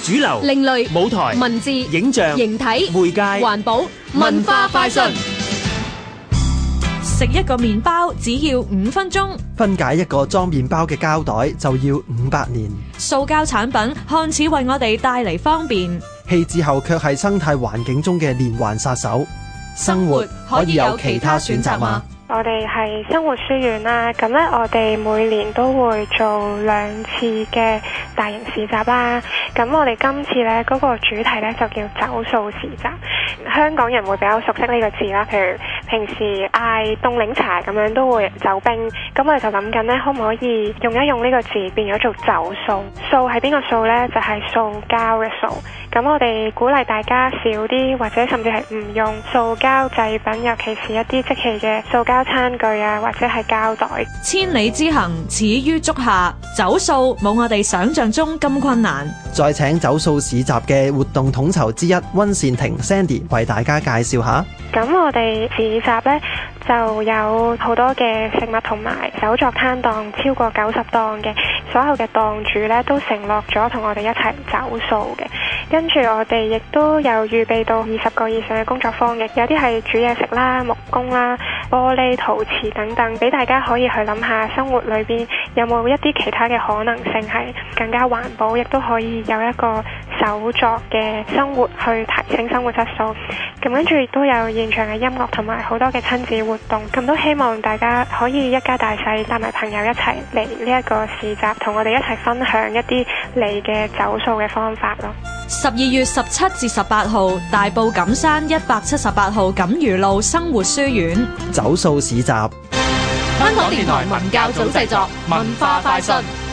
主流、 另類、 舞台、 文字、 影像、 形體、 媒介、 環保、文化快訊。 食一個麵包只要5分鐘， 分解一個裝麵包嘅膠袋就要500年。 塑膠產品看似為我哋帶嚟方便， 棄置後卻係生態環境中嘅連環殺手。生活可以有其他選擇嗎？ 我哋係生活書院啦，咁咧我哋每年都會做2次嘅大型市集啦。咁我哋今次咧嗰個主題咧就叫走塑市集。香港人會比較熟悉呢個字啦，譬如平時嗌凍檸茶咁樣都會走冰，咁我哋就諗緊咧可唔可以用一用呢個字變咗做走塑。塑係邊個塑呢？就係塑膠嘅塑。咁我哋鼓勵大家少啲，或者甚至係唔用塑膠製品，尤其是一啲即棄嘅塑膠餐具啊，或者係膠袋。 千里之行始於足下，走塑冇我哋想象中咁困難。 再請走塑市集嘅活動統籌之一溫善婷 Sandy 為大家介紹下。 咁我哋市集呢，就有好多嘅食物同埋手作攤檔，超過90檔嘅，所有嘅檔主呢，都承諾咗同我哋一齊走塑嘅。跟住我哋亦都有預備到20個以上嘅工作坊嘅，有啲係煮嘢食啦、木工啦、玻璃陶瓷等等，俾大家可以去諗下生活裏邊有冇一啲其他嘅可能性係更加環保，亦都可以有一個手作嘅生活去提升生活質素。咁跟住亦都有現場嘅音樂同埋好多嘅親子活動，咁都希望大家可以一家大細帶埋朋友一齊嚟呢一個市集，同我哋一齊分享一啲你嘅走塑嘅方法咯。 12月17至18號，大埔錦山178號錦魚路生活書院走塑市集。 香港電台文教組製作，文化快訊。